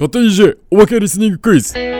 勝手に EJ おまけリスニングクイズ。 はい、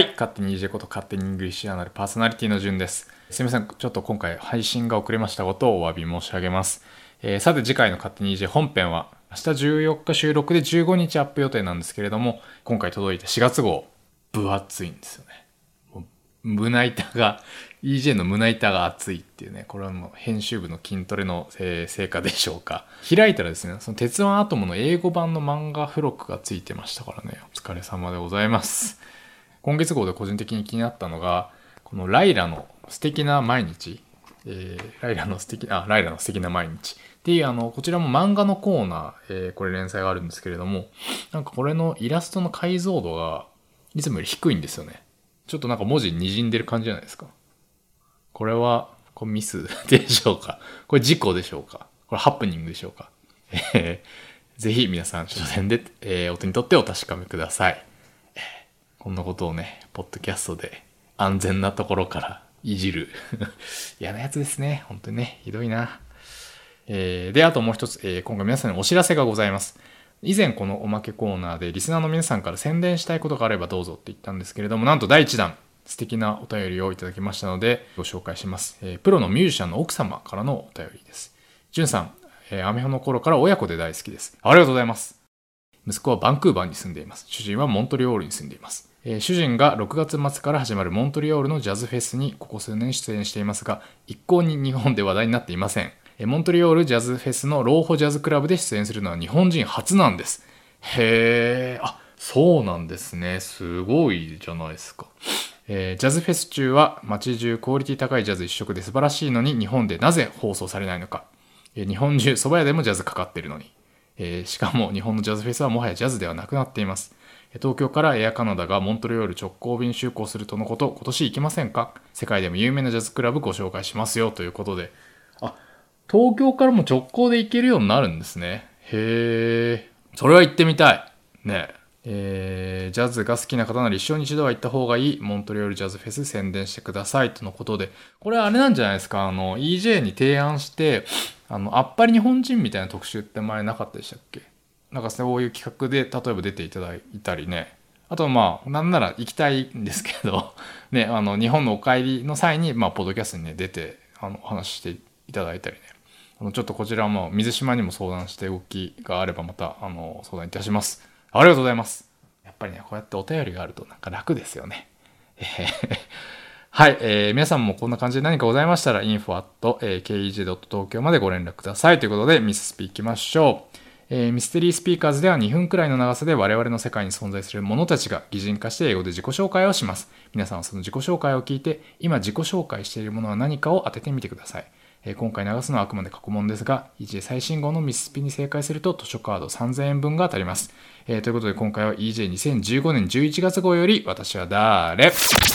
勝手に EJ こと勝手にイングリッシュアナルパーソナリティの順です。すみません、ちょっと今回配信が遅れましたことをお詫び申し上げます。さて次回の勝手に EJ 本編は明日14日収録で15日アップ予定なんですけれども、今回届いた4月号分厚いんですよね。胸板が EJ の胸板が厚いっていうね、これはもう編集部の筋トレの成果でしょうか。開いたらですね、その鉄腕アトムの英語版の漫画付録がついてましたからね、お疲れ様でございます。今月号で個人的に気になったのが、このライラの素敵な毎日、ライラの素敵な毎日っていうこちらも漫画のコーナー、これ連載があるんですけれども、なんかこれのイラストの解像度がいつもより低いんですよね。ちょっとなんか文字に滲んでる感じじゃないですか。これはミスでしょうか。これ事故でしょうか。これハプニングでしょうか。ぜひ皆さん書店で、お手に取ってお確かめください。こんなことをね、ポッドキャストで安全なところからいじる嫌なやつですね。本当にね、ひどいな。で、あともう一つ、今回皆さんにお知らせがございます。以前このおまけコーナーでリスナーの皆さんから宣伝したいことがあればどうぞって言ったんですけれども、なんと第1弾素敵なお便りをいただきましたのでご紹介します。プロのミュージシャンの奥様からのお便りです。じゅんさん、アメフの頃から親子で大好きです。ありがとうございます。息子はバンクーバーに住んでいます。主人はモントリオールに住んでいます。主人が6月末から始まるモントリオールのジャズフェスにここ数年出演していますが、一向に日本で話題になっていません。モントリオールジャズフェスのローホジャズクラブで出演するのは日本人初なんです。へー、そうなんですね。すごいじゃないですか。ジャズフェス中は街中クオリティ高いジャズ一色で素晴らしいのに、日本でなぜ放送されないのか。日本中蕎麦屋でもジャズかかっているのに。しかも日本のジャズフェスはもはやジャズではなくなっています。東京からエアカナダがモントリオール直行便就航するとのこと。今年行きませんか？世界でも有名なジャズクラブご紹介しますよということで。東京からも直行で行けるようになるんですね。へー、それは行ってみたいね。ジャズが好きな方なら一生に一度は行った方がいいモントリオールジャズフェス宣伝してくださいとのことで、これはあれなんじゃないですか。EJ に提案してあっぱれ日本人みたいな特集って前なかったでしたっけ？なんかそういう企画で例えば出ていただいたりね。あとなんなら行きたいんですけどね、日本のお帰りの際にポッドキャストにね出てお話ししていただいたりね。ちょっとこちらも水島にも相談して動きがあればまた相談いたします。ありがとうございます。やっぱりね、こうやってお便りがあるとなんか楽ですよね。はい、皆さんもこんな感じで何かございましたら info@kej.tokyo までご連絡くださいということで、ミススピ行きましょう。ミステリースピーカーズでは2分くらいの長さで我々の世界に存在する者たちが擬人化して英語で自己紹介をします。皆さんはその自己紹介を聞いて、今自己紹介しているものは何かを当ててみてください。今回流すのはあくまで過去問ですが、EJ 最新号のミススピに正解すると図書カード3000円分が当たります。ということで今回は EJ2015 年11月号より私は誰？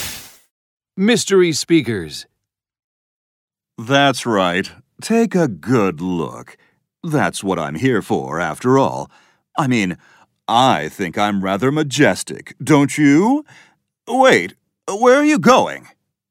Mystery Speakers. That's right. Take a good look. That's what I'm here for, after all. I mean, I think I'm rather majestic, don't you? Wait, where are you going?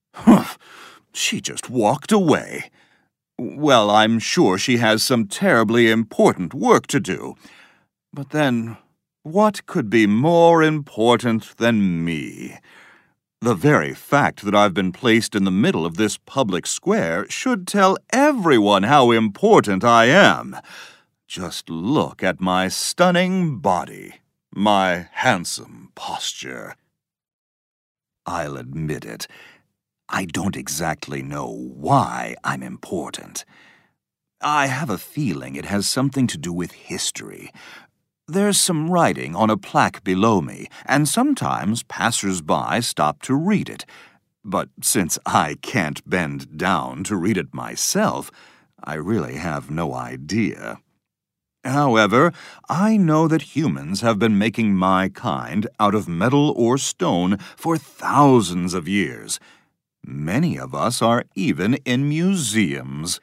She just walked away. Well, I'm sure she has some terribly important work to do. But then, what could be more important than me? The very fact that I've been placed in the middle of this public square should tell everyone how important I am. Just look at my stunning body, my handsome posture. I'll admit it. I don't exactly know why I'm important. I have a feeling it has something to do with history. There's some writing on a plaque below me, and sometimes passers-by stop to read it. But since I can't bend down to read it myself, I really have no idea. However, I know that humans have been making my kind out of metal or stone for thousands of years. Many of us are even in museums.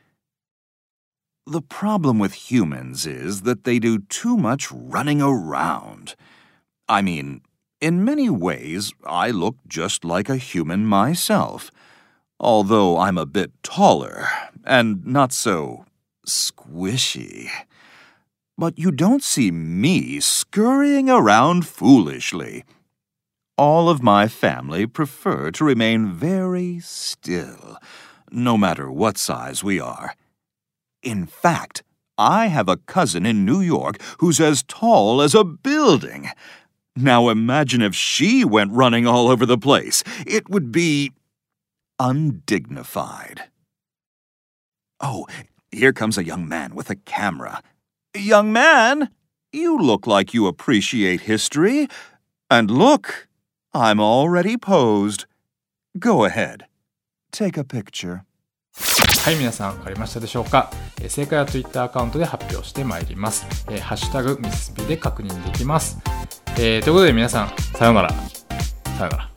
The problem with humans is that they do too much running around. I mean, in many ways, I look just like a human myself, although I'm a bit taller and not so squishy. But you don't see me scurrying around foolishly. All of my family prefer to remain very still, no matter what size we are. In fact, I have a cousin in New York who's as tall as a building. Now imagine if she went running all over the place. It would be undignified. Oh, here comes a young man with a camera. Young man, you look like you appreciate history. And look, I'm already posed. Go ahead. Take a picture. はい、皆さん分かりましたでしょうか。正解は Twitter アカウントで発表してまいります。ハッシュタグミススピで確認できます。ということで皆さん、さようなら。さようなら。